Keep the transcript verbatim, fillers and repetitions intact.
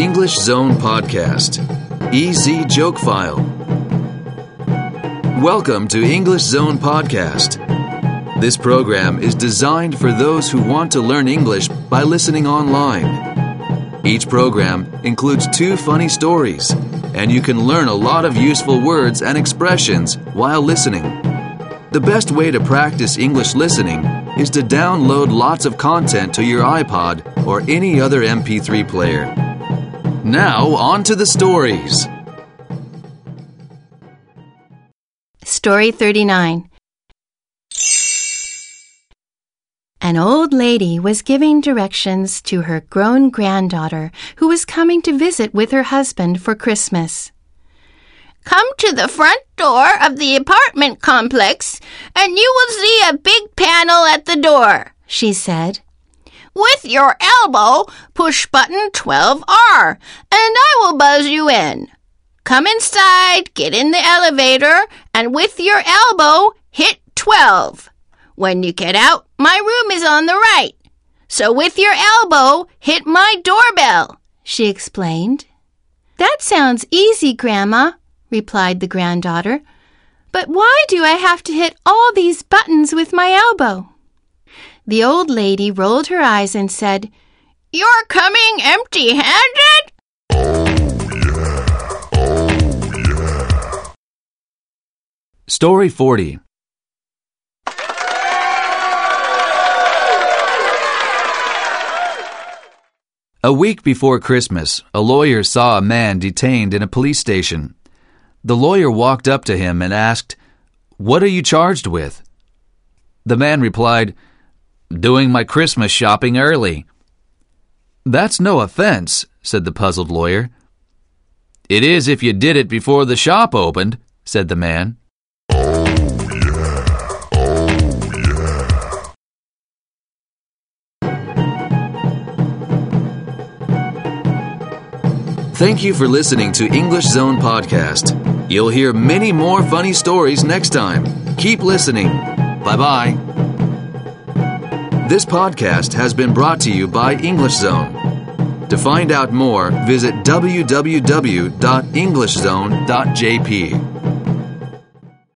English Zone Podcast. Easy Joke File. Welcome to English Zone Podcast. This program is designed for those who want to learn English by listening online. Each program includes two funny stories, and you can learn a lot of useful words and expressions while listening. The best way to practice English listening is to download lots of content to your iPod or any other M P three player. Now, on to the stories. Story thirty-nine. An old lady was giving directions to her grown granddaughter who was coming to visit with her husband for Christmas. Come to the front door of the apartment complex and you will see a big panel at the door, she said. With your elbow, push button twelve R, and I will buzz you in. Come inside, get in the elevator, and with your elbow, hit twelve. When you get out, my room is on the right. So with your elbow, hit my doorbell, she explained. That sounds easy, Grandma, replied the granddaughter. But why do I have to hit all these buttons with my elbow? The old lady rolled her eyes and said, You're coming empty-handed? Story forty. A week before Christmas, a lawyer saw a man detained in a police station. The lawyer walked up to him and asked, "What are you charged with?" The man replied, "Doing my Christmas shopping early." "That's no offense," said the puzzled lawyer. "It is if you did it before the shop opened," said the man. Thank you for listening to English Zone Podcast. You'll hear many more funny stories next time. Keep listening. Bye-bye. This podcast has been brought to you by English Zone. To find out more, visit w w w dot english zone dot j p.